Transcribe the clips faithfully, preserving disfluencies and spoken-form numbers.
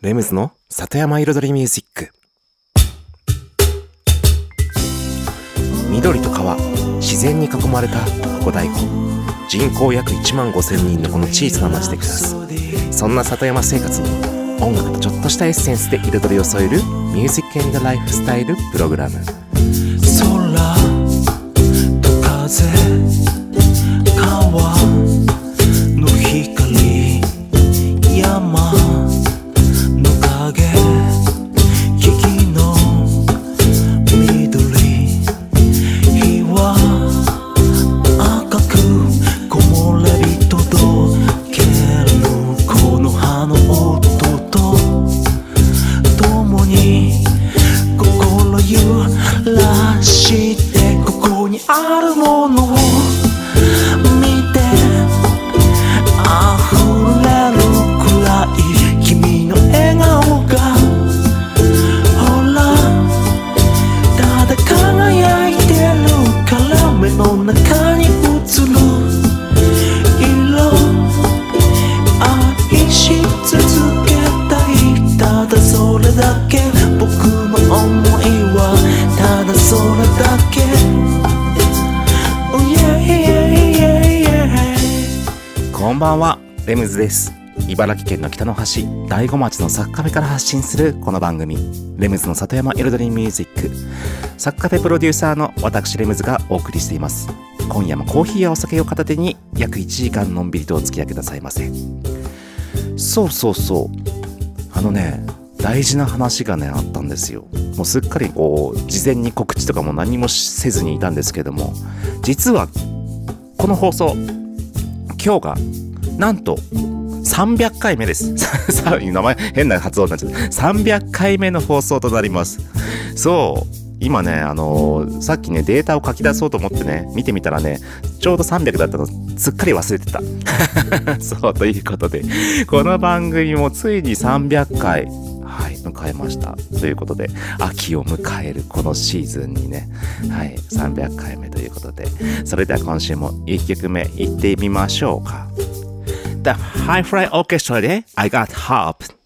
レムズの里山彩りミュージック。緑と川、自然に囲まれたここ大湖、人口約いちまんごせんにんのこの小さな町で暮らす。そんな里山生活に音楽とちょっとしたエッセンスで彩りを添えるミュージック&ライフスタイルプログラム。 空と風、川の光、山の影、木々の緑、日は赤く木漏れ日届けるこの葉の音と共に心揺らしてここにあるものを見て溢れるくらい君の笑顔がほらただ輝いてるから目の中に映る色愛し続けたいただそれだけ僕の想いはただそれだけ、oh, yeah, yeah, yeah, yeah. こんばんは、レムズです。茨城県の北の端、大子町のサッカフェから発信するこの番組、レムズの里山彩りミュージック。サッカフェプロデューサーの私レムズがお送りしています。今夜もコーヒーやお酒を片手に約いちじかんのんびりとお付き合いくださいませ。そうそうそう、あのね、大事な話がねあったんですよ。もうすっかりこう事前に告知とかも何もせずにいたんですけども、実はこの放送今日がなんとさんびゃっかいめですさ名前変な発音になっちゃった。さんびゃっかいめの放送となります。そう今ねあのー、さっきねデータを書き出そうと思ってね見てみたらねちょうどさんびゃくだったのすっかり忘れてたそうということでこの番組もついにさんびゃっかい、はい、迎えましたということで、秋を迎えるこのシーズンにね、はい、さんびゃっかいめということで、それでは今週もいっきょくめいってみましょうか。 The Hi-Fi Orchestra で I Got Hope。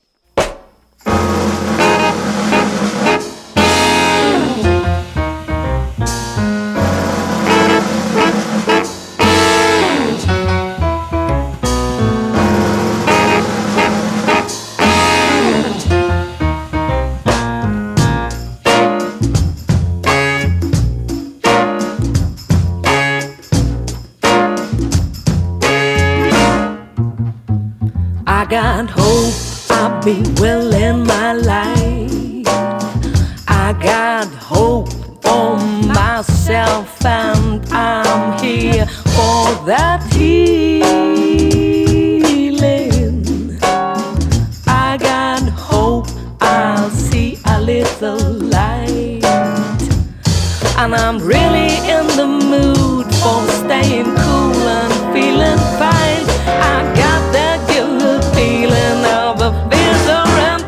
I got hope I'll be well in my life. I got hope for myself and I'm here for that healing. I got hope I'll see a little light. And I'm really in the mood for staying cool and feeling fine. I got that good feeling of a different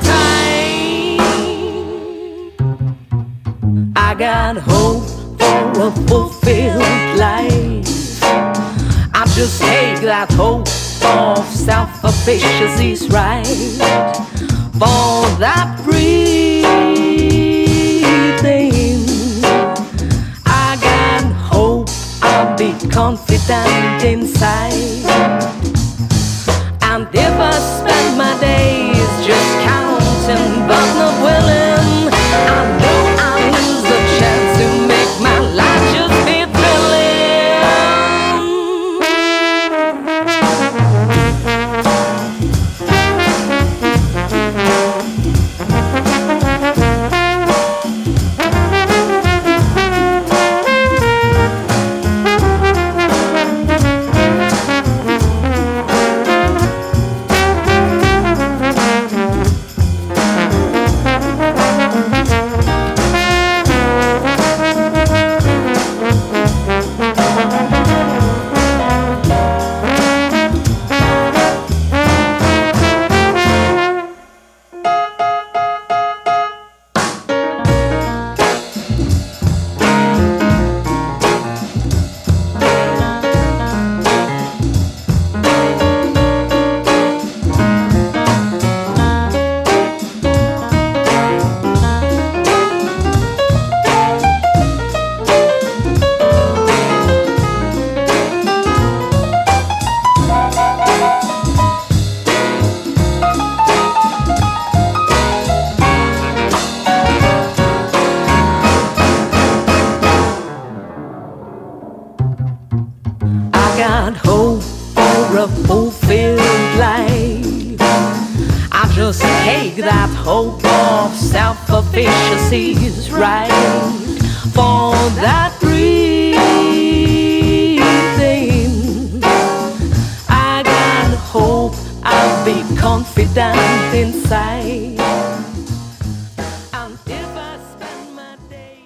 time. I got hope for a fulfilled life. I just take that hope of self-sufficiency's right. For that breathing, I got hope I'll be confident inside. And if I spend my days just counting but not willing, I know I'll lose the chance to make my life just be thrilling. I just take that hope of self-efficacy's right for that breathing. I got hope, I'll be confident inside. And if I spend my days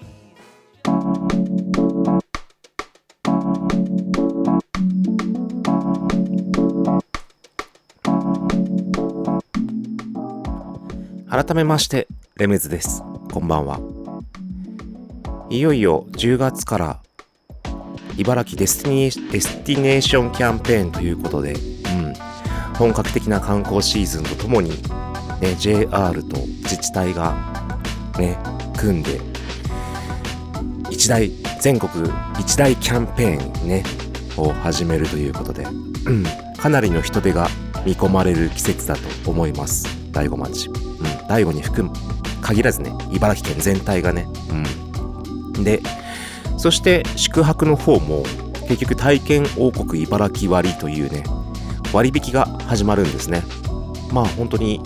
改めましてレムズです。こんばんは。いよいよじゅうがつから茨城デスティニー、デスティネーションキャンペーンということで、うん、本格的な観光シーズンとともに、ね、ジェイアール と自治体が、ね、組んで一大全国一大キャンペーン、ね、を始めるということで、うん、かなりの人手が見込まれる季節だと思います。大子町、うん、大子に含む限らずね、茨城県全体がね、うん、でそして宿泊の方も結局体験王国茨城割というね割引が始まるんですね。まあ本当に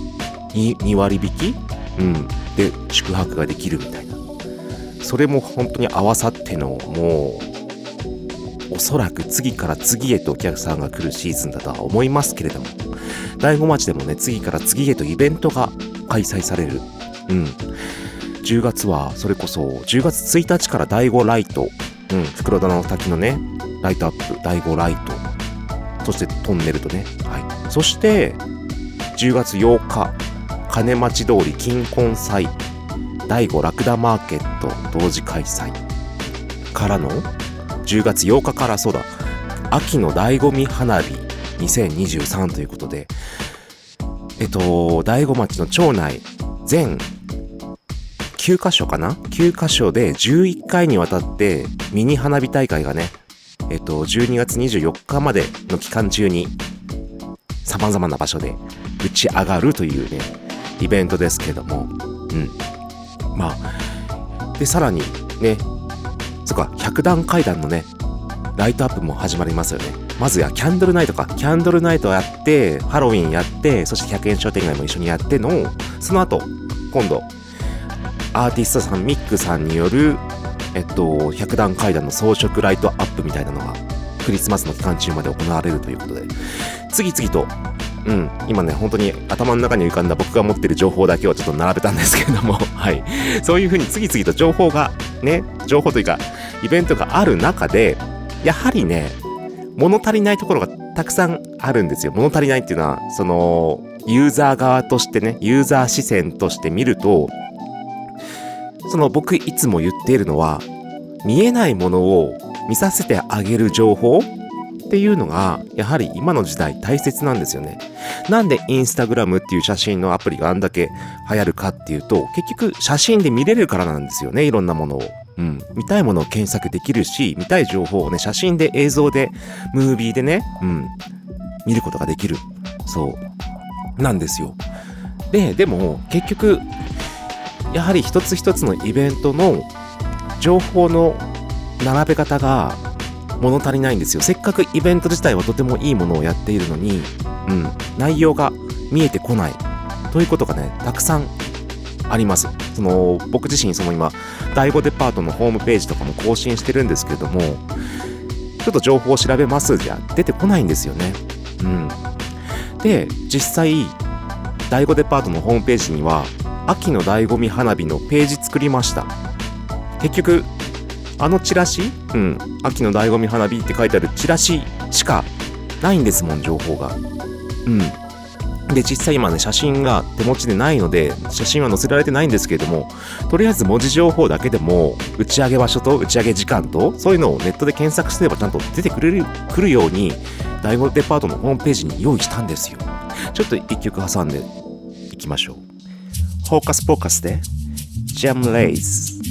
2, 2割引き、うん、で宿泊ができるみたいな、それも本当に合わさってのもうおそらく次から次へとお客さんが来るシーズンだとは思いますけれども、大子町でもね次から次へとイベントが開催される。うん、じゅうがつはそれこそじゅうがつついたちからだいごライト、うん、袋田の滝のねライトアップだいごライト、そしてトンネルとね、はい、そしてじゅうがつようか金町通り金婚祭だいごラクダマーケット同時開催からのじゅうがつようかからそうだ秋の醍醐味花火にせんにじゅうさんということで、えっと大子町の町内全きゅうかしょかなきゅうかしょでじゅういっかいにわたってミニ花火大会がね、えっとじゅうにがつにじゅうよっかまでの期間中に様々な場所で打ち上がるというねイベントですけども、うん、まあでさらにね、そっか百段階段のねライトアップも始まりますよね。まずやキャンドルナイトかキャンドルナイトやってハロウィンやって、そしてひゃくえん商店街も一緒にやっての、その後今度アーティストさんミックさんによるえっと百段階段の装飾ライトアップみたいなのがクリスマスの期間中まで行われるということで、次々と、うん、今ね本当に頭の中に浮かんだ僕が持ってる情報だけをちょっと並べたんですけれどもはい、そういう風に次々と情報がね情報というかイベントがある中で、やはりね物足りないところがたくさんあるんですよ。物足りないっていうのはそのユーザー側としてね、ユーザー視線として見ると、その僕いつも言っているのは、見えないものを見させてあげる情報っていうのがやはり今の時代大切なんですよね。なんでインスタグラムっていう写真のアプリがあんだけ流行るかっていうと、結局写真で見れるからなんですよね。いろんなものを、うん、見たいものを検索できるし、見たい情報をね写真で映像でムービーでね、うん、見ることができる。そうなんですよ。ででも結局やはり一つ一つのイベントの情報の並べ方が物足りないんですよ。せっかくイベント自体はとてもいいものをやっているのに、うん、内容が見えてこないということがねたくさんあります。その僕自身その今第五デパートのホームページとかも更新してるんですけれども、ちょっと情報を調べますじゃ出てこないんですよね。うん、で実際第五デパートのホームページには秋の醍醐味花火のページ作りました。結局あのチラシ、うん、秋の醍醐味花火って書いてあるチラシしかないんですもん、情報が。うん。で、実際今ね、写真が手持ちでないので、写真は載せられてないんですけれども、とりあえず文字情報だけでも、打ち上げ場所と打ち上げ時間と、そういうのをネットで検索すればちゃんと出てくれる、くるように、第五デパートのホームページに用意したんですよ。ちょっと一曲挟んでいきましょう。フォーカスフォーカスで、ジャムレイズ。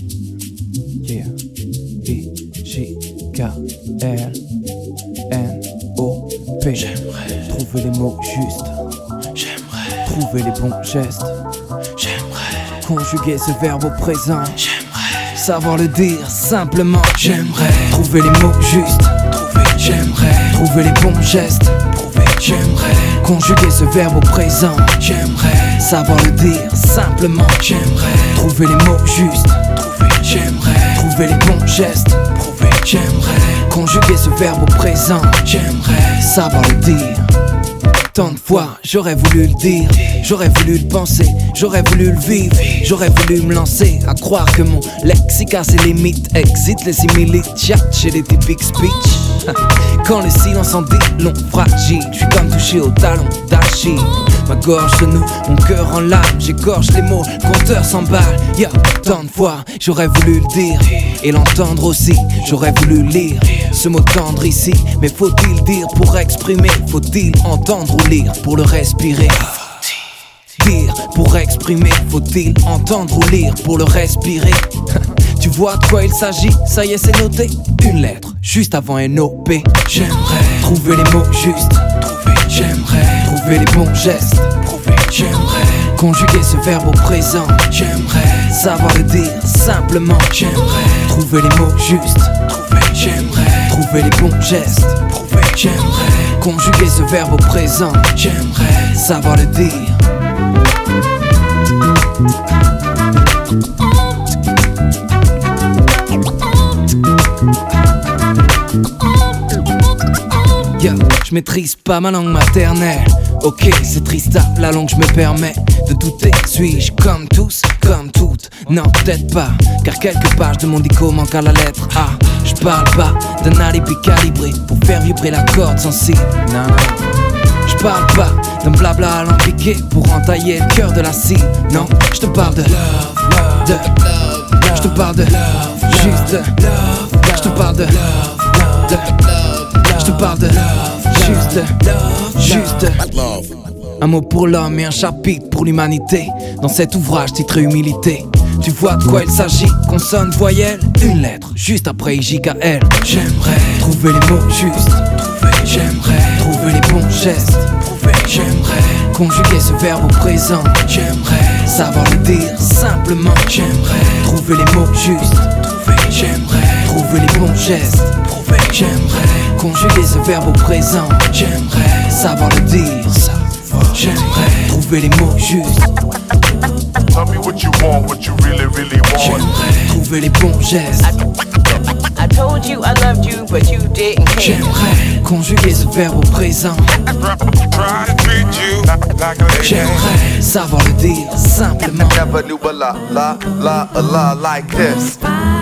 Yeah. I J K L N O P. J'aimerais trouver les mots justes. J'aimerais trouver les bons gestes. J'aimerais conjuguer ce verbe au présent. J'aimerais savoir le dire simplement. J'aimerais trouver les mots justes. Trouver. J'aimerais trouver les bons gestes. Trouver. J'aimerais Conjuguer ce verbe au présent, j'aimerais savoir le dire simplement, j'aimerais trouver les mots justes, trouver, j'aimerais trouver les bons gestes, prouver, j'aimerais conjuguer ce verbe au présent, j'aimerais savoir le dire. Tant de fois j'aurais voulu le dire, j'aurais voulu le penser, j'aurais voulu le vivre, j'aurais voulu me lancer à croire que mon lexique a ses limites, excite les similites, chat chez les typiques speech. Quand le silence en dit long, fragile, je suis comme touché au talon d'Achille. Ma gorge se noue, mon cœur en larmes, j'égorge les mots, le compteur s'emballe. Y'a tant de fois j'aurais voulu le dire et l'entendre aussi, j'aurais voulu lire ce mot tendre ici, mais faut-il dire pour exprimer, faut-il entendre ou lire pour le respirer? Dire pour exprimer, faut-il entendre ou lire pour le respirer? Tu vois de quoi il s'agit, ça y est c'est noté. Une lettre, juste avant N O P. J'aimerais trouver les mots justes, trouver, j'aimerais trouver les bons gestes, prouver, j'aimerais conjuguer ce verbe au présent, j'aimerais savoir le dire simplement, j'aimerais trouver les mots justes, trouver, j'aimerais trouver les bons gestes, prouver, j'aimerais conjuguer ce verbe au présent, j'aimerais savoir le dire. Yeah, je maîtrise pas ma langue maternelle. Ok, c'est triste, la langue je me permets de douter. Suis-je comme tous, comme toutes? Non, peut-être pas, car quelques pages de mon dico manquent à la lettre A. Je parle pas d'un alibi calibré pour faire vibrer la corde sensible. Non, non. Je parle pas d'un blabla alambiqué pour entailler le cœur de la cible. Non, je te parle de love, love, de love. Je te parle de love, juste de love. Je te parle de love, de je te parle de juste, juste un mot pour l'homme et un chapitre pour l'humanité. Dans cet ouvrage titré Humilité, tu vois de quoi il s'agit, consonne, voyelle, une lettre, juste après I J K L. J'aimerais trouver les mots justes, trouver, j'aimerais trouver les bons gestes, prouver, j'aimerais conjuguer ce verbe au présent, j'aimerais savoir le dire simplement, j'aimerais trouver les mots justes, trouver, j'aimerais trouver les bons gestes, prouver, j'aimerais conjuguer ce verbe au présent, j'aimerais savoir le dire, j'aimerais trouver les mots justes. Tell me what you want, what you really, really want. J'aimerais trouver les bons gestes. I told you I loved you, but you didn't care. J'aimerais conjuguer ce verbe au présent. Try to treat you like a lady. J'aimerais savoir le dire simplement. Never knew a la, la, la, a la like this.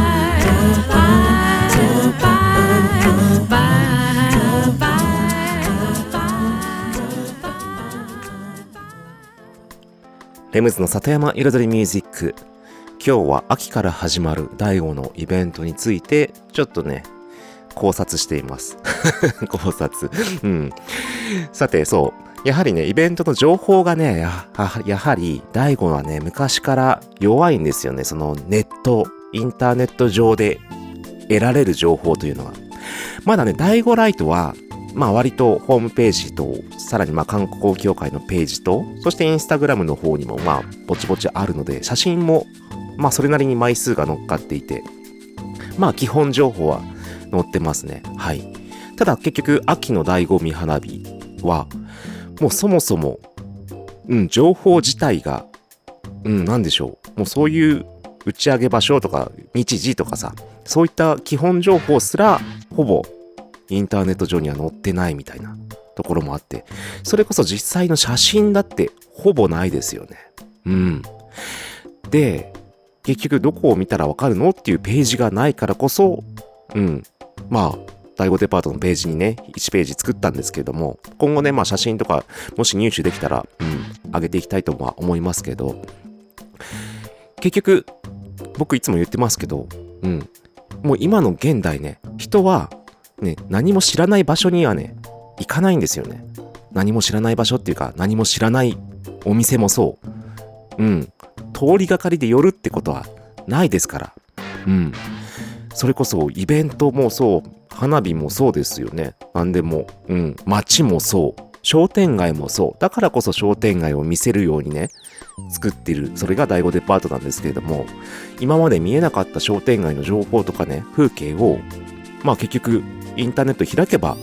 レムズの里山彩りミュージック。今日は秋から始まるだいごのイベントについてちょっとね考察しています考察うん。さてそうやはりねイベントの情報がね や, やはりだいごはね昔から弱いんですよね。そのネットインターネット上で得られる情報というのはまだねだいごライトはまあ割とホームページとさらにまあ観光協会のページとそしてインスタグラムの方にもまあぼちぼちあるので写真もまあそれなりに枚数が乗っかっていてまあ基本情報は載ってますね。はい。ただ結局秋の醍醐味花火はもうそもそもうん情報自体がうんなんでしょうもうそういう打ち上げ場所とか日時とかさそういった基本情報すらほぼインターネット上には載ってないみたいなところもあってそれこそ実際の写真だってほぼないですよね。うんで結局どこを見たらわかるのっていうページがないからこそうんまあだいごデパートのページにねいちページ作ったんですけれども今後ねまあ写真とかもし入手できたらうん上げていきたいとは思いますけど結局僕いつも言ってますけどうんもう今の現代ね人はね、何も知らない場所にはね行かないんですよね。何も知らない場所っていうか何も知らないお店もそううん通りがかりで寄るってことはないですからうんそれこそイベントもそう花火もそうですよね。何でもうん街もそう商店街もそうだからこそ商店街を見せるようにね作っているそれがだいごデパートなんですけれども今まで見えなかった商店街の情報とかね風景をまあ結局インターネット開けば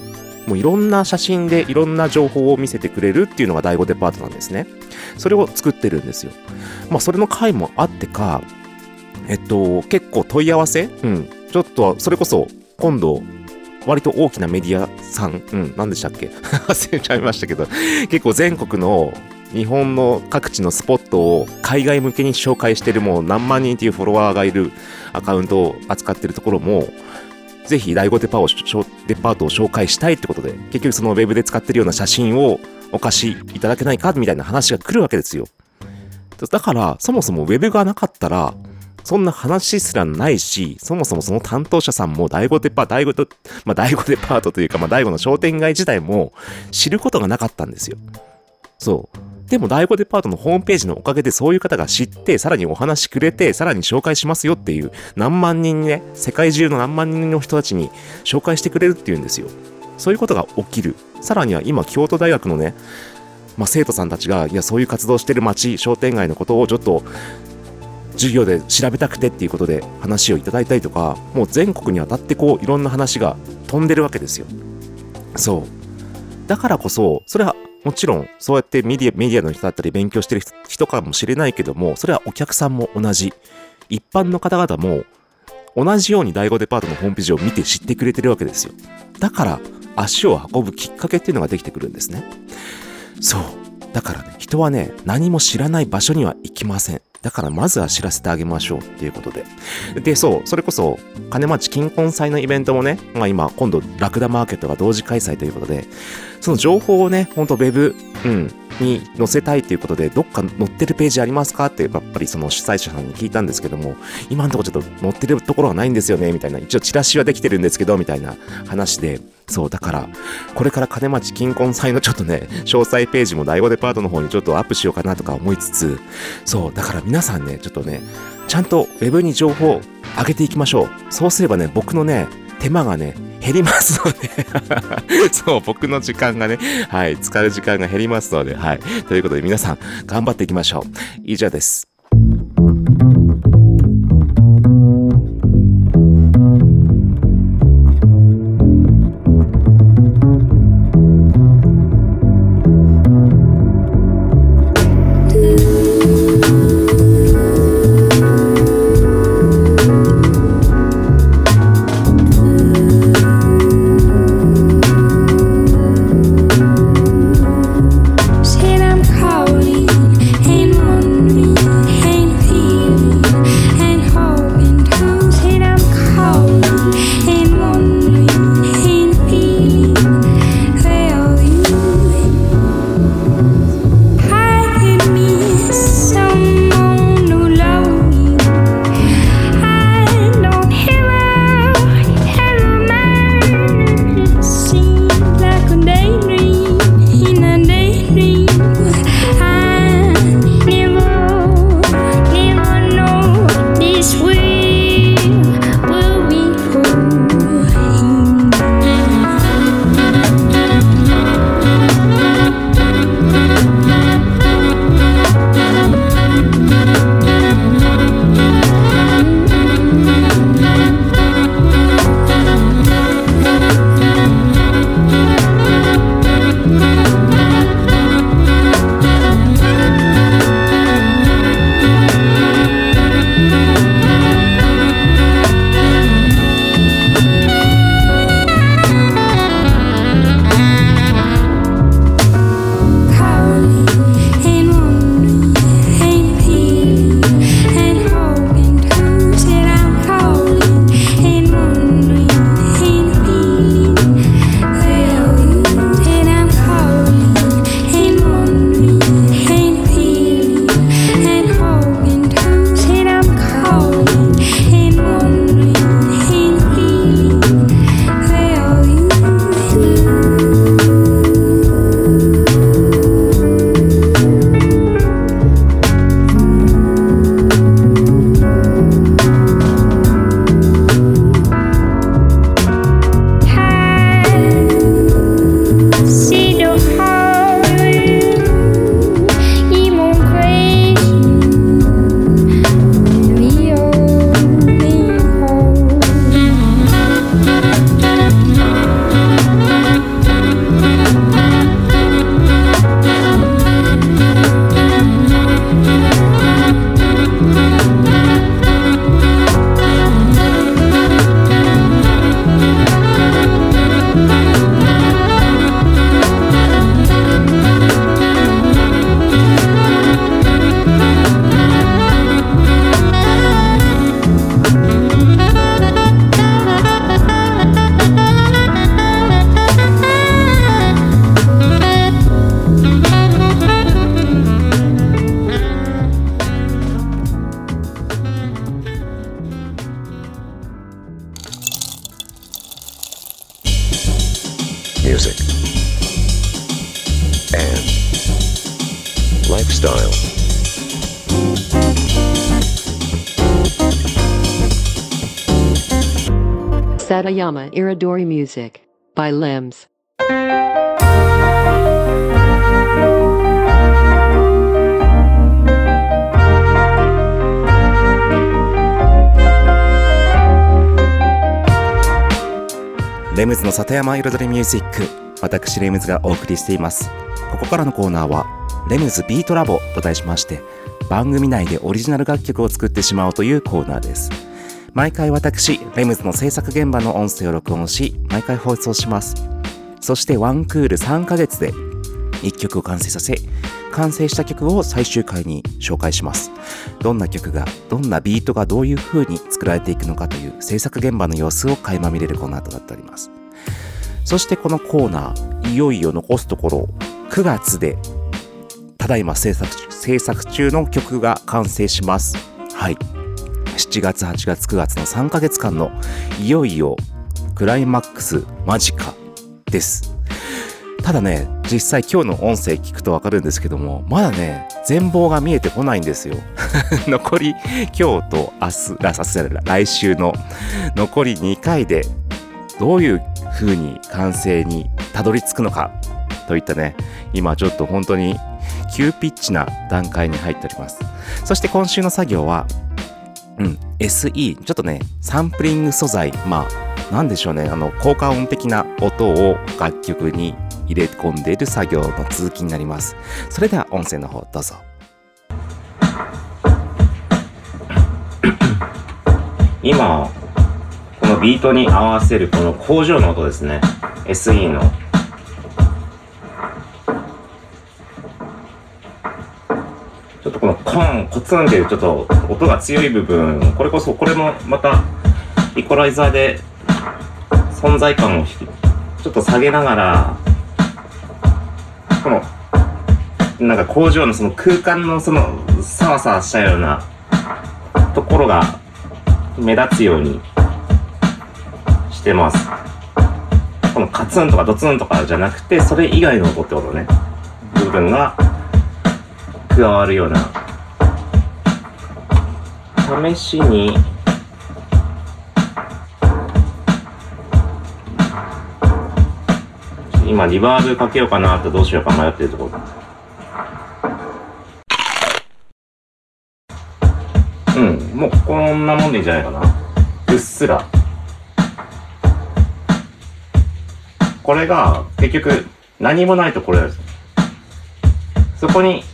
もういろんな写真でいろんな情報を見せてくれるっていうのが第五デパートなんですね。それを作ってるんですよ。まあそれの回もあってか、えっと結構問い合わせ、うん、ちょっとそれこそ今度割と大きなメディアさん、うん、何でしたっけ忘れちゃいましたけど、結構全国の日本の各地のスポットを海外向けに紹介してる、もう何万人っていうフォロワーがいるアカウントを扱ってるところも、ぜひ第五デパをデパートを紹介したいってことで、結局そのウェブで使ってるような写真をお貸しいただけないかみたいな話が来るわけですよ。だからそもそもウェブがなかったらそんな話すらないし、そもそもその担当者さんも第五デパ第五とまあ第五デパートというか、まあ第五の商店街自体も知ることがなかったんですよ。そう。でも第五デパートのホームページのおかげでそういう方が知って、さらにお話くれて、さらに紹介しますよっていう、何万人にね、世界中の何万人の人たちに紹介してくれるっていうんですよ。そういうことが起きる。さらには今京都大学のね、まあ、生徒さんたちが、いやそういう活動してる街、商店街のことをちょっと授業で調べたくてっていうことで話をいただいたりとか、もう全国にわたってこういろんな話が飛んでるわけですよ。そう。だからこそ、それはもちろんそうやってメディア、メディアの人だったり勉強してる人かもしれないけども、それはお客さんも同じ。一般の方々も同じように第五デパートのホームページを見て知ってくれてるわけですよ。だから足を運ぶきっかけっていうのができてくるんですね。そう。だからね、人はね、何も知らない場所には行きません。だからまずは知らせてあげましょうっていうことで。で、そう、それこそ金町金婚祭のイベントもね、まあ今今度ラクダマーケットが同時開催ということで、その情報をね、ほんとウェブ、うん、に載せたいということで、どっか載ってるページありますかってやっぱりその主催者さんに聞いたんですけども、今のところちょっと載ってるところはないんですよねみたいな、一応チラシはできてるんですけどみたいな話で、そうだからこれから金町金婚祭のちょっとね詳細ページも第五デパートの方にちょっとアップしようかなとか思いつつ、そうだから皆さんねちょっとねちゃんとウェブに情報を上げていきましょう。そうすればね僕のね手間がね減りますのでそう僕の時間がねはい使う時間が減りますので、はいということで皆さん頑張っていきましょう。以上です。 Said I'm calling, ain't wondering Satayama Iridori Music by Limbs. レムズの里山彩りミュージック、私レムズがお送りしています。ここからのコーナーはレムズビートラボと題しまして、番組内でオリジナル楽曲を作ってしまおうというコーナーです。毎回私レムズの制作現場の音声を録音し、毎回放送します。そしてワンクールさんかげつでいっきょくを完成させ、完成した曲を最終回に紹介します。どんな曲が、どんなビートがどういう風に作られていくのかという制作現場の様子を垣間見れるコーナーとなっております。そしてこのコーナー、いよいよ残すところくがつで、ただいま制作制作中の曲が完成します。はい。しちがつ、はちがつ、くがつのさんかげつかんのいよいよクライマックス間近です。ただね、実際今日の音声聞くとわかるんですけども、まだね、全貌が見えてこないんですよ。残り今日と明日、明日じゃない、来週の残りにかいでどういう風に完成にたどり着くのかといったね、今ちょっと本当に急ピッチな段階に入っております。そして今週の作業は、うん、エスイー、ちょっとね、サンプリング素材、まあ、なんでしょうね、あの、効果音的な音を楽曲に入れ込んでいる作業の続きになります。それでは音声の方どうぞ。今、このビートに合わせるこの工場の音ですね。エスイー の。ちょっとこのコン、コツンっていうちょっと音が強い部分、これこそ、これもまたイコライザーで存在感をちょっと下げながら、このなんか工場のその空間のそのサワサワしたようなところが目立つようにしてます。このカツンとかドツンとかじゃなくて、それ以外の音ってことね、部分が加わるような。試しに今リバーブかけようかなとどうしようか迷ってるところ。うん、もうこんなもんでいいんじゃないかな。うっすら。これが結局何もないとこれです。そこに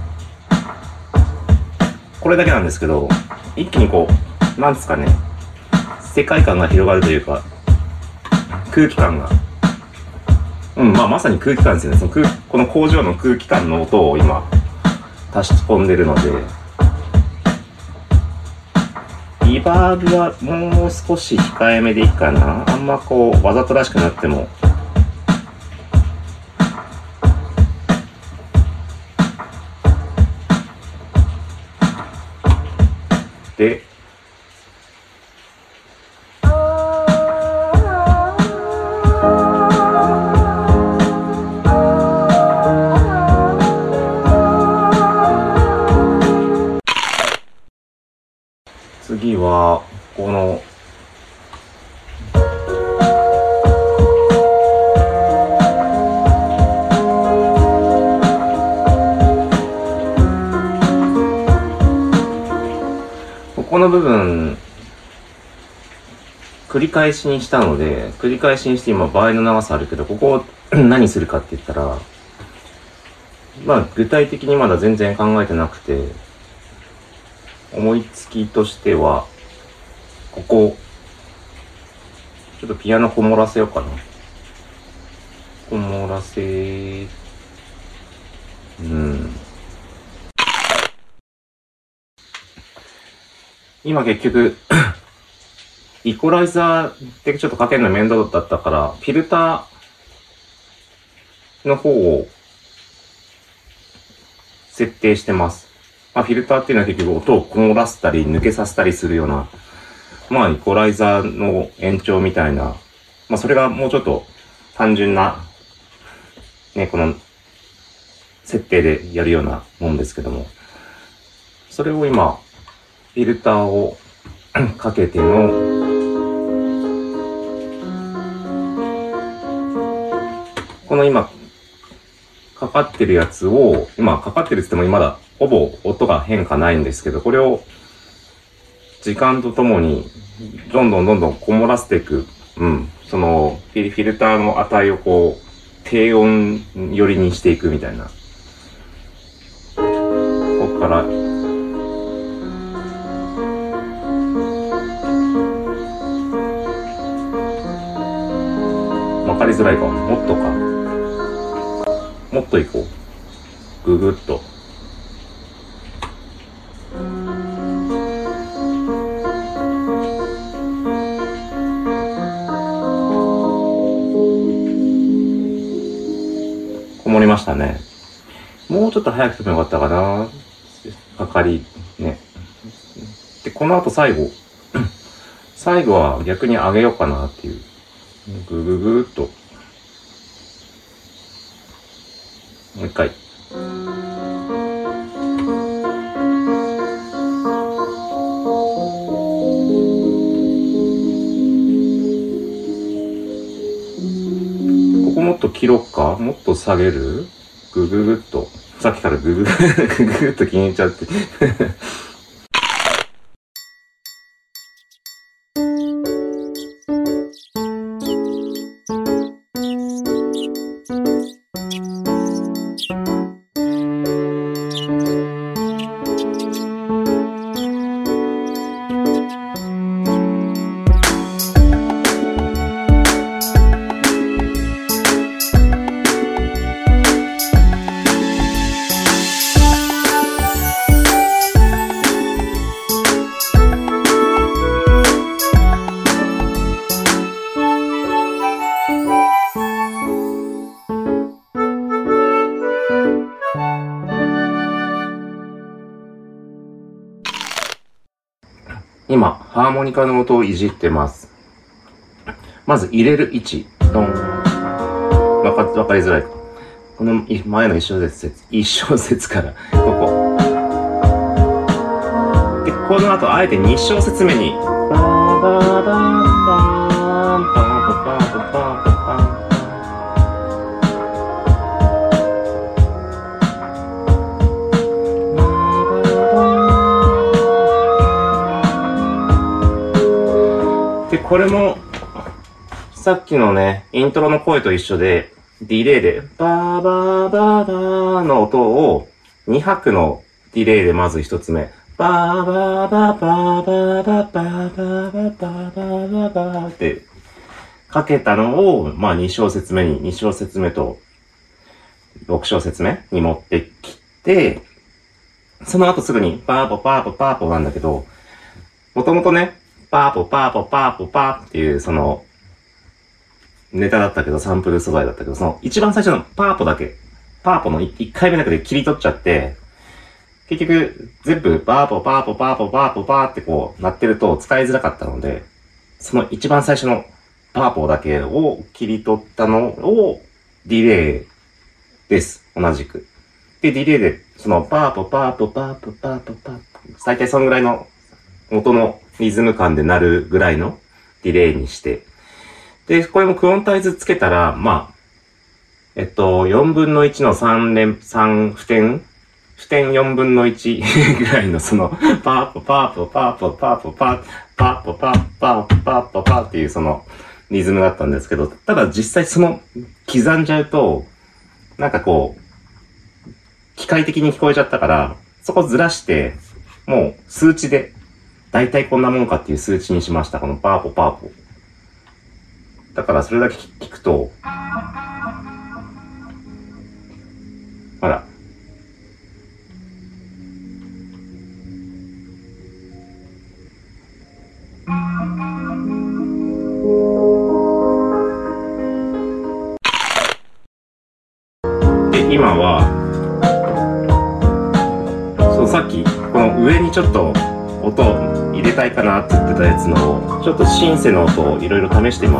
これだけなんですけど、一気にこうなんですかね、世界観が広がるというか、空気感が、うん、まあまさに空気感ですよね。その空この工場の空気感の音を今足し込んでるので、リバーブはもう少し控えめでいいかな。あんまこうわざとらしくなっても。で、次はこのこの部分繰り返しにしたので、繰り返しにして今倍の長さあるけど、ここを何するかって言ったら、まあ具体的にまだ全然考えてなくて、思いつきとしてはここちょっとピアノこもらせようかな。こもらせうん今結局イコライザーってちょっとかけるの面倒だったから、フィルターの方を設定してます。まあ、フィルターっていうのは結局音をこもらせたり抜けさせたりするような、まあイコライザーの延長みたいな、まあそれがもうちょっと単純なね、この設定でやるようなもんですけども、それを今フィルターをかけてのこの今かかってるやつを、今かかってるって言ってもまだほぼ音が変化ないんですけど、これを時間とともにどんどんどんどんこもらせていく、うん、そのフィルターの値をこう低音寄りにしていくみたいな。ここからわかりづらいか、もっとか、もっといこう、ぐぐっと。こもりましたね。もうちょっと早くてもよかったかな。かかりね。でこの後最後最後は逆に上げようかなっていう。ぐぐぐーっともう一回。ここもっと切ろっか、もっと下げる、ぐぐぐっと、さっきからぐぐぐぐぐっと気に入っちゃって今、ハーモニカの音をいじってます。まず入れる位置。ドン。わか、わかりづらいか。この前の一小節、一小節から、ここ。で、この後、あえて二小節目に、バーバーバーバーン、バーバーバーバーバーバー。これもさっきのねイントロの声と一緒でディレイでバーバーバーバーの音をに拍のディレイでまず一つ目バーバーバーバーバーバーバーバーバーバーバーバーバーってかけたのをまあに小節目にに小節目とろく小節目に持ってきてその後すぐにパーポパーポパーポなんだけどもともとねパーポパーポパーポパーっていうそのネタだったけどサンプル素材だったけどその一番最初のパーポだけパーポの一回目だけで切り取っちゃって結局全部パーポパーポパーポパーポパーってこうなってると使いづらかったのでその一番最初のパーポだけを切り取ったのをディレイです同じくでディレイでそのパーポパーポパーポパーポパーポ最低そのぐらいの音のリズム感で鳴るぐらいのディレイにして。で、これもクオンタイズつけたら、まあ、えっと、よんぶんのいちのさん連、さん不点不点よんぶんのいちぐらいのその、パーポパーポパーポパーポパーパーポパーパーポパーポパーっていうそのリズムだったんですけど、ただ実際その刻んじゃうと、なんかこう、機械的に聞こえちゃったから、そこずらして、もう数値で、だいたいこんなもんかっていう数値にしました。このパーポパーポ。だからそれだけ聞くと、ほら。で、今は、そう、さっき、この上にちょっと音を入れたいかなって言ってたやつのちょっとシンセの音をいろいろ試しています。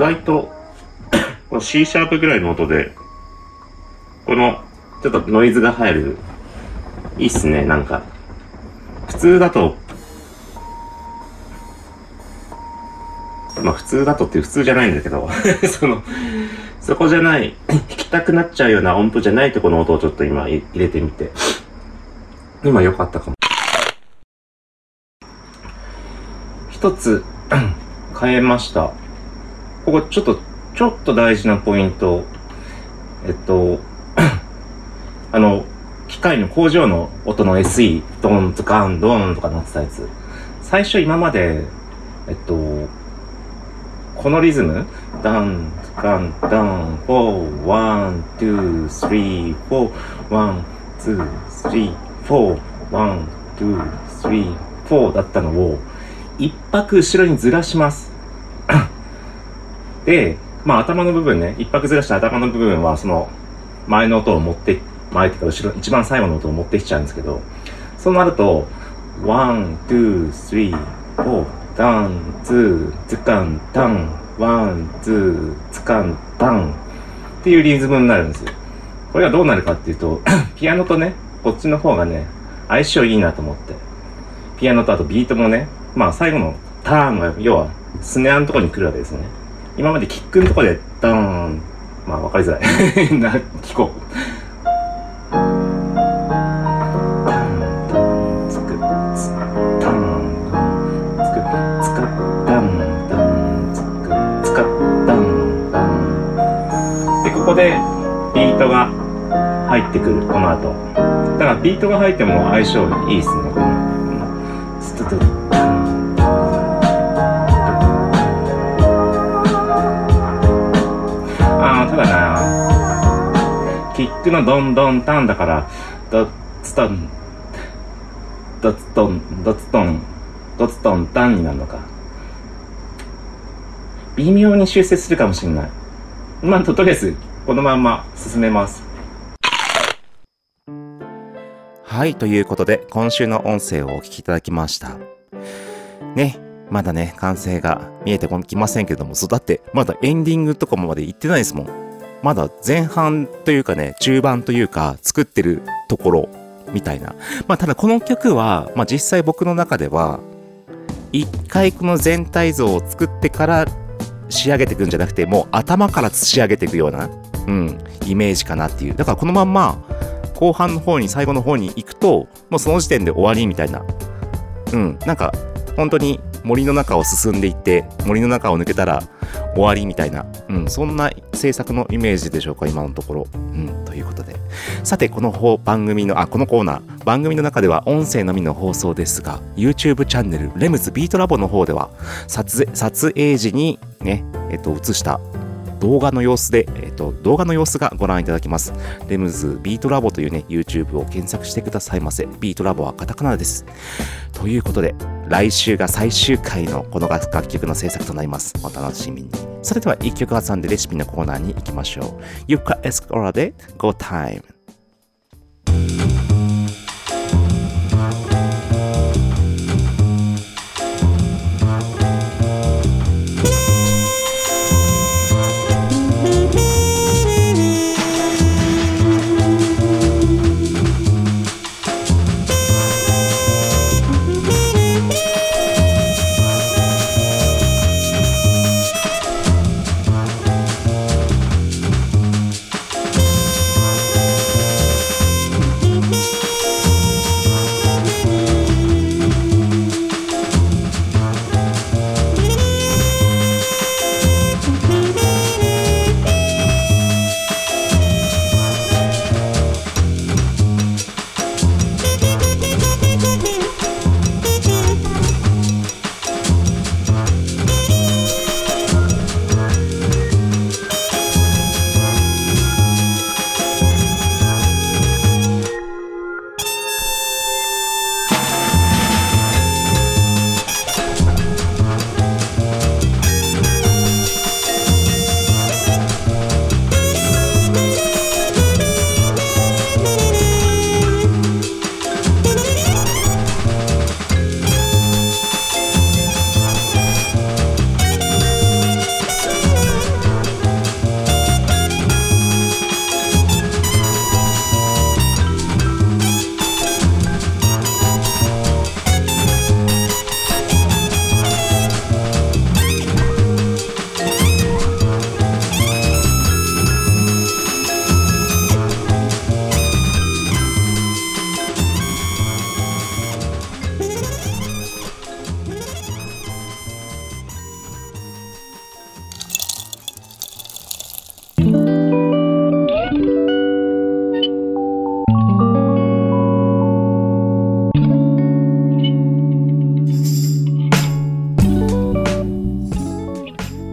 外とこの C シャープぐらいの音でこのちょっとノイズが入る、いいっすね。なんか普通だとまあ普通だとって普通じゃないんだけどそのそこじゃない弾きたくなっちゃうような音符じゃないところの音をちょっと今入れてみて、今良かったかも。一つ変えました。ここちょっとちょっと大事なポイント。えっとあの機械の工場の音の エスイー ドンとカンドンとかなってたやつ、最初今までえっとこのリズムダンダンダンフォーワンツースリーフォーワンツースリーフォーワンツースリーフォーだったのを一拍後ろにずらしますで、まあ頭の部分ね、一拍ずらした頭の部分はその前の音を持って前っていうか後ろ一番最後の音を持ってきちゃうんですけど、そうなるとワンツースリーフォーダンツーツカンタンワンツーツカンタンっていうリズムになるんですよ。これがどうなるかっていうとピアノとねこっちの方がね相性いいなと思って、ピアノとあとビートもね、まあ最後のターンが要はスネアのところに来るわけですね。今までキックのところでダーン、まあ分かりづらいな、聞こう。ここでビートが入ってくる、この後。だからビートが入っても相性いいですね、この。ストトあー、ただな、キックのドンドンタンだから、ドツトン、ドツトン、ドツトン、ドツトンタンになるのか。微妙に修正するかもしれない。まあ、とりあえず、このまんま進めます。はい、ということで今週の音声をお聞きいただきましたね。まだね完成が見えてきませんけども、そうだってまだエンディングとかまで行ってないですもん。まだ前半というかね中盤というか作ってるところみたいな。まあただこの曲は、まあ、実際僕の中では一回この全体像を作ってから仕上げていくんじゃなくて、もう頭から仕上げていくような、うん、イメージかなっていう。だからこのまんま後半の方に最後の方に行くともうその時点で終わりみたいな、うん、なんか本当に森の中を進んでいって森の中を抜けたら終わりみたいな、うん、そんな制作のイメージでしょうか今のところ、うん、ということで、さてこの番組のあこのコーナー番組の中では音声のみの放送ですが YouTube チャンネルレムズビートラボの方では撮影、撮影時にねえっと映した動画の様子で、えっと、動画の様子がご覧いただきます。レムズビートラボというね、YouTube を検索してくださいませ。ビートラボはカタカナです。ということで、来週が最終回のこの楽曲の制作となります。お楽しみに。それでは一曲挟んでレシピのコーナーに行きましょう。ユカエスコラで Go Time。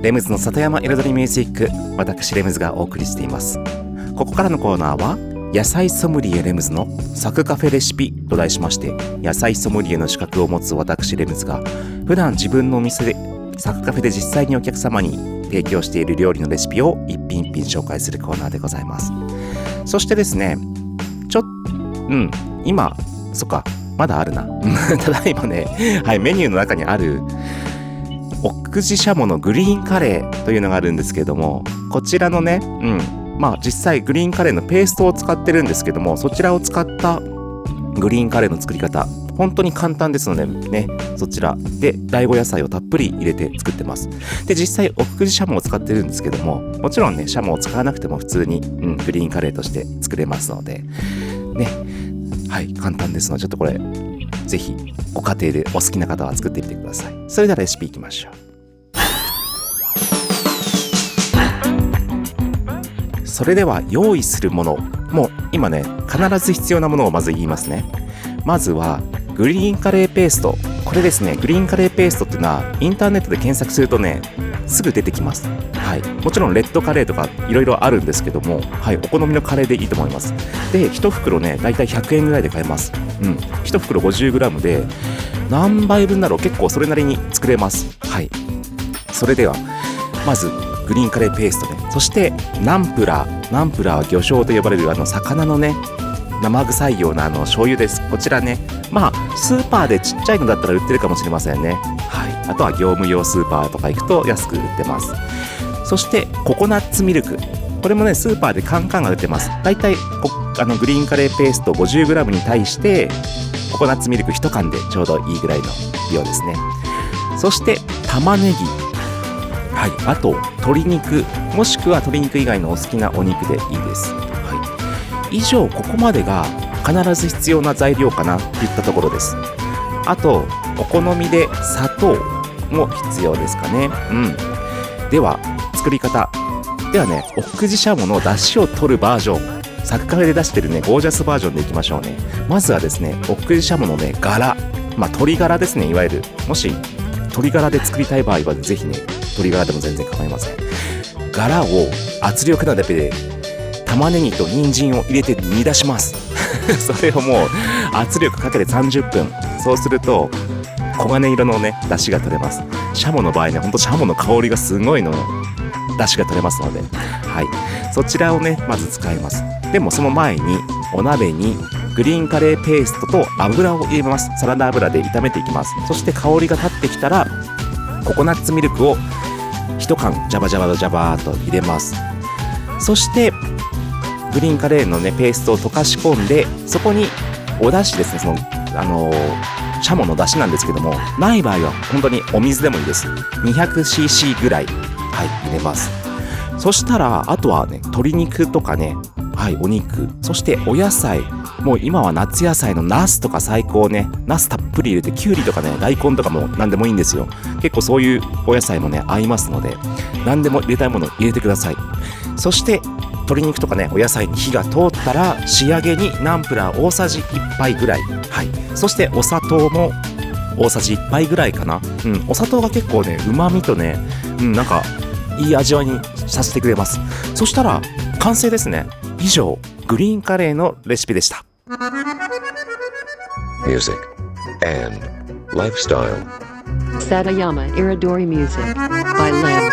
レムズの里山彩りミュージック、私レムズがお送りしています。ここからのコーナーは野菜ソムリエレムズのサクカフェレシピと題しまして、野菜ソムリエの資格を持つ私レムズが普段自分のお店でサクカフェで実際にお客様に提供している料理のレシピを一品一品紹介するコーナーでございます。そしてですね、ちょっうん今そっかまだあるなただ今ね、はい、メニューの中にある奥久慈しゃものグリーンカレーというのがあるんですけれども、こちらのね、うんまあ実際グリーンカレーのペーストを使ってるんですけども、そちらを使ったグリーンカレーの作り方本当に簡単ですのでね、そちらで大根野菜をたっぷり入れて作ってます。で実際奥久慈しゃもを使ってるんですけども、もちろんねしゃもを使わなくても普通に、うん、グリーンカレーとして作れますのでね、はい簡単ですので、ちょっとこれぜひご家庭でお好きな方は作ってみてください。それではレシピいきましょう。それでは用意するもの、もう今ね必ず必要なものをまず言いますね。まずはグリーンカレーペースト。これですね、グリーンカレーペーストっていうのはインターネットで検索するとねすぐ出てきます。はい、もちろんレッドカレーとかいろいろあるんですけども、はい、お好みのカレーでいいと思います。でいち袋ねだいたいひゃくえんぐらいで買えます。うん、いち袋 ごじゅうグラム で何杯分だろう、結構それなりに作れます。はい、それではまずグリーンカレーペーストね、そしてナンプラー。ナンプラーは魚醤と呼ばれるあの魚のね生臭いようなあの醤油です。こちらね、まあスーパーでちっちゃいのだったら売ってるかもしれませんね。はい、あとは業務用スーパーとか行くと安く売ってます。そしてココナッツミルク、これもねスーパーでカンカンが売ってます。だいたいあのグリーンカレーペースト ごじゅうグラム に対してココナッツミルクいち缶でちょうどいいぐらいの量ですね。そして玉ねぎ、はい、あと鶏肉、もしくは鶏肉以外のお好きなお肉でいいです。はい、以上ここまでが必ず必要な材料かなといったところです。あとお好みで砂糖も必要ですかね。うん。では作り方ではね、奥久慈しゃもの出汁を取るバージョン、サクカフェで出してるねゴージャスバージョンでいきましょうね。まずはですね、奥久慈しゃものね柄、まあ鶏ガラですね、いわゆる。もし鶏ガラで作りたい場合はぜひね鶏ガラでも全然構いません。柄を圧力鍋で玉ねぎと人参を入れて煮出しますそれをもう圧力かけてさんじゅっぷん、そうすると黄金色のね出汁が取れます。シャモの場合ね、ほんとシャモの香りがすごいの出汁が取れますので、はい、そちらをねまず使います。でもその前にお鍋にグリーンカレーペーストと油を入れます。サラダ油で炒めていきます。そして香りが立ってきたらココナッツミルクをいち缶ジャバジャバジャバーと入れます。そしてグリーンカレーのねペーストを溶かし込んで、そこにお出汁ですね、そのあのー、シャモの出汁なんですけども、ない場合は本当にお水でもいいです。 にひゃくシーシー ぐらい、はい、入れます。そしたらあとはね鶏肉とかね、はい、お肉、そしてお野菜、もう今は夏野菜のナスとか最高ね、ナスたっぷり入れて、キュウリとかね大根とかも何でもいいんですよ。結構そういうお野菜もね合いますので、何でも入れたいものを入れてください。そして鶏肉とかねお野菜に火が通ったら仕上げにナンプラー大さじいっぱいぐらい、はい、そしてお砂糖も大さじいっぱいぐらいかな。うん、お砂糖が結構ね旨味とね、うん、なんかいい味わいにさせてくれます。そしたら完成ですね。以上グリーンカレーのレシピでした。 Music and Lifestyle Satayama Iridori Music by Limbs.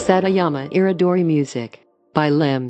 Satayama Iridori Music by Limbs.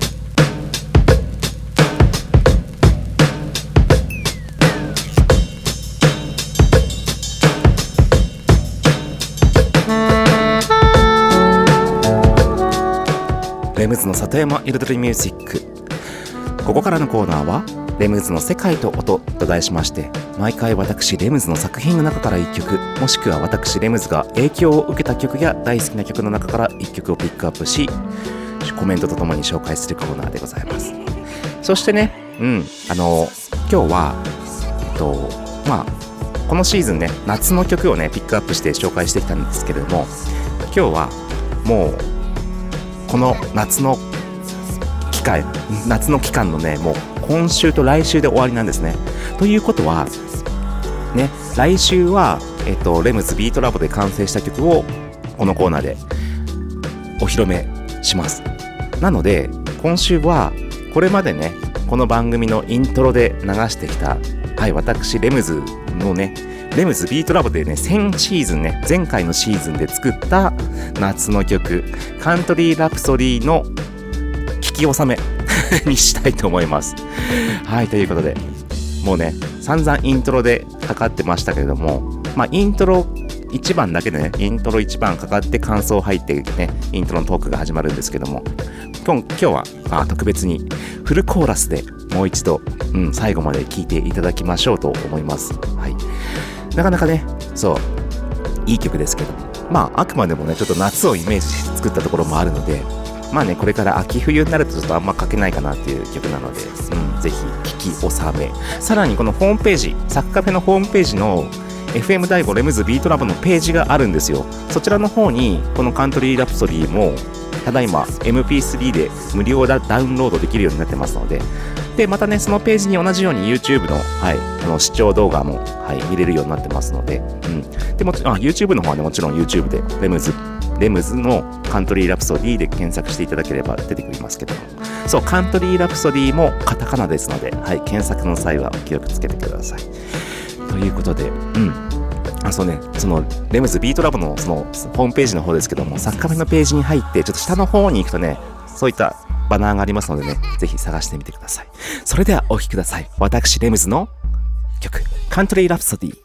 レムズの里山彩りミュージック。ここからのコーナーはレムズの世界と音と題しまして、毎回私レムズの作品の中からいっきょく、もしくは私レムズが影響を受けた曲や大好きな曲の中からいっきょくをピックアップし、コメントとともに紹介するコーナーでございます。そしてね、うんあの今日はえっとまあこのシーズンね、夏の曲をねピックアップして紹介してきたんですけれども、今日はもうこの夏の期間夏の期間のね、もう今週と来週で終わりなんですね。ということはね、来週はえっとレムズビートラボで完成した曲をこのコーナーでお披露目します。なので今週はこれまでね、この番組のイントロで流してきた、はい、私レムズのねレムズビートラボでね、先シーズンね、前回のシーズンで作った夏の曲カントリーラプソディの聞き納めにしたいと思います。はい、ということでもうね散々イントロでかかってましたけれども、まあイントロいちばんだけでね、イントロいちばんかかって感想入ってね、イントロのトークが始まるんですけども、今, 今日はあ特別にフルコーラスでもう一度、うん、最後まで聴いていただきましょうと思います。はい、なかなかね、そういい曲ですけど、まああくまでもねちょっと夏をイメージして作ったところもあるので、まあねこれから秋冬になるとちょっとあんま書けないかなっていう曲なので、うん、ぜひ聴き納め。さらにこのホームページ、サッカフェのホームページの エフエム ダイゴレムズビートラボのページがあるんですよ。そちらの方にこのカントリーラプソディもただいま エムピースリー で無料ダウンロードできるようになってますので、でまたねそのページに同じように YouTube の、はい、あの視聴動画も、はい、見れるようになってますので、うん、でもあ YouTube の方はねもちろん YouTube でレムズレムズのカントリーラプソディで検索していただければ出てくりますけども、そうカントリーラプソディもカタカナですので、はい、検索の際はお気をつけてください。ということで、うんあそうね、そのレムズビートラボのそのホームページの方ですけども、サッカフェのページに入ってちょっと下の方に行くとね、そういったバナーがありますのでね、ぜひ探してみてください。それではお聴きください。私レムズの曲カントリーラプソディ。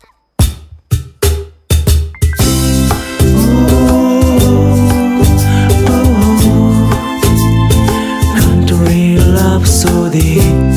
カントリーラプソディ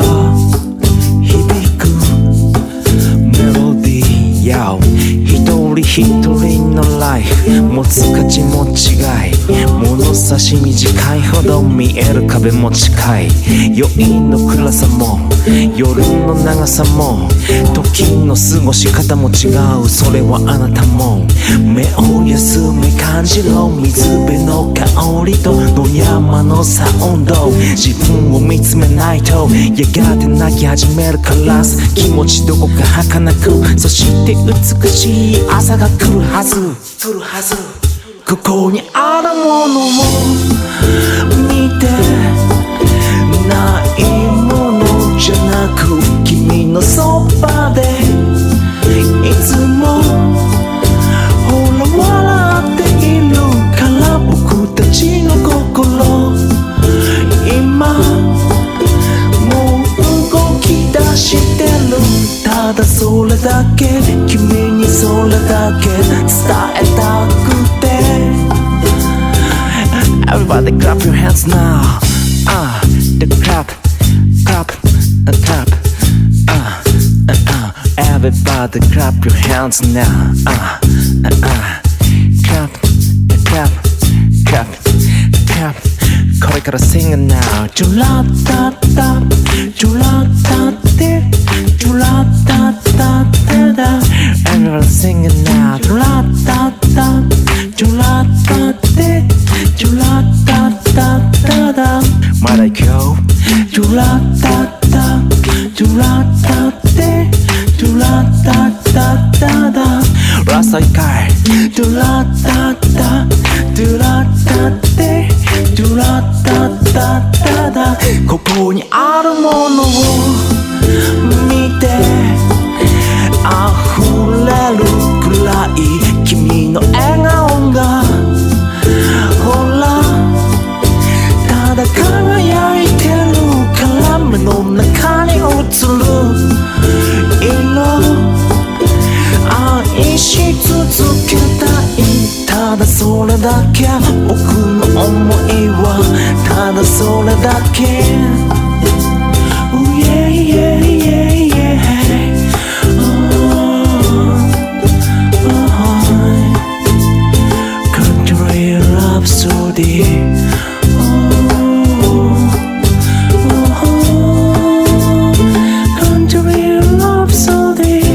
響くメロディー、一人人一人のライフ持つ価値も違い、物差し短いほど見える壁も近い。余韻の暗さも夜の長さも時の過ごし方も違う。それはあなたも目を休め感じろ。水辺の香りと野山のサウンド、自分を見つめないとやがて泣き始めるカラス。気持ちどこか儚く、そして美しい朝が来るはず来るはず。ここにあるものを見て、ないものじゃなく君のそばでいつもほら笑っているから僕たちの心今もう動き出してる。ただそれだけ君にそれだけ伝えたくて Everybody clap your hands now. Ah, uh, the clap, clap, uh, clap. Ah, uh, uh, uh. Everybody clap your hands now. Ah, uh, uh, uh. Clap, clap, clap, clap. これから sing it now. チュラッタッタ、チュラッタッテ、チュラッタッタッタダ。Everybody sing it now. チュラッタッタ、チュラッタッテ、チュラッタッタッタダ。まだ行くよ。チュラッタッタ、チュラッタッテ、チュラッタッタッタダ。ラスト一回。チュラッタッタ、チュラッタッテ、チュラッタッタッタダ。ここにあるものを見て溢れるくらい君の笑顔がほらただ輝いてるから目の中に映る色愛し続けたい。ただそれだけ僕の想いはただそれだけ。Oh yeah yeah yeah yeah. Oh, oh, country rhapsody. Oh, oh, country rhapsody.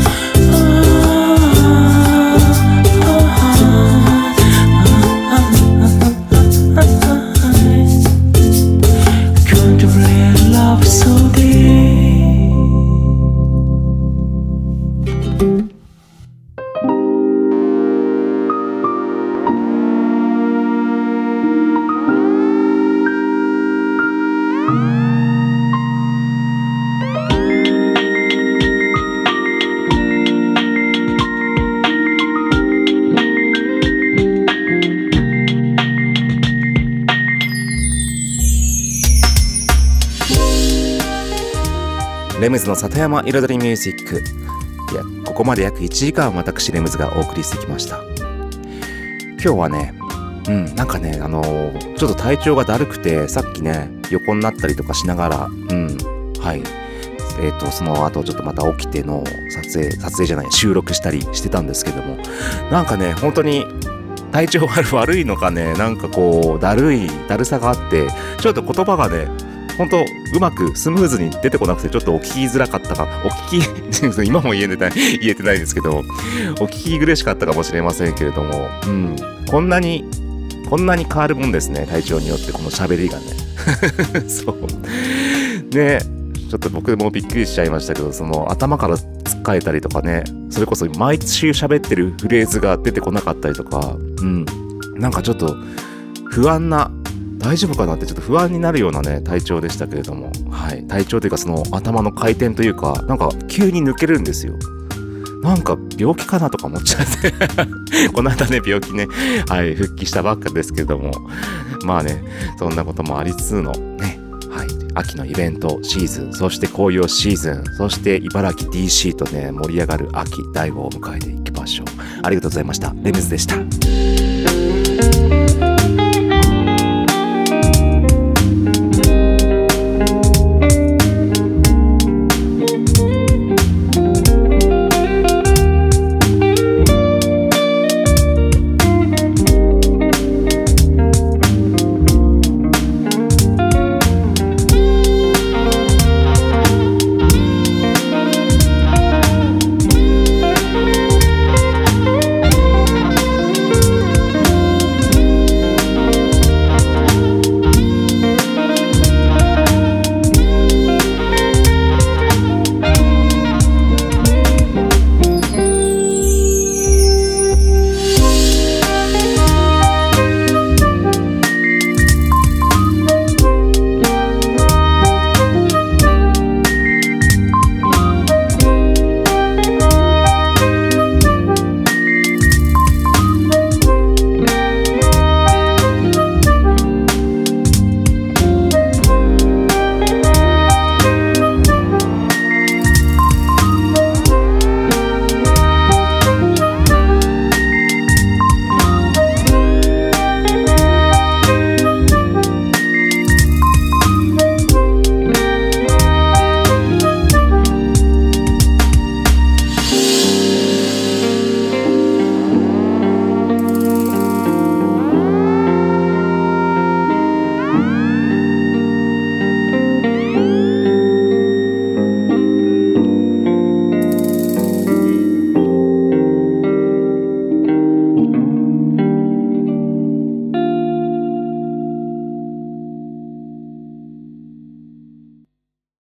レムズの里山彩りミュージック。いや、ここまで約いちじかん私レムズがお送りしてきました。今日はね、うん、なんかね、あのー、ちょっと体調がだるくて、さっきね、横になったりとかしながら、うん、はい。えっと、その後ちょっとまた起きての撮影、撮影じゃない、収録したりしてたんですけども、なんかね、本当に体調が悪いのかね、なんかこう、だるい、だるさがあって、ちょっと言葉がね、本当うまくスムーズに出てこなくてちょっとお聞きづらかったか、お聞き今も言えてない言えてないですけど、お聞き苦しかったかもしれませんけれども、うん、こんなにこんなに変わるもんですね、体調によってこの喋りがねそうね、ちょっと僕もびっくりしちゃいましたけど、その頭からつっかえたりとかね、それこそ毎週喋ってるフレーズが出てこなかったりとか、うん、なんかちょっと不安な、大丈夫かなってちょっと不安になるようなね体調でしたけれども、はい、体調というかその頭の回転というか、なんか急に抜けるんですよ。なんか病気かなとか思っちゃってこの間ね病気ね、はい、復帰したばっかですけれども、まあね、そんなこともありつつのね、はい、秋のイベントシーズン、そして紅葉シーズン、そして茨城 ディーシー とね盛り上がる秋だいごを迎えていきましょう。ありがとうございました。レムズでした。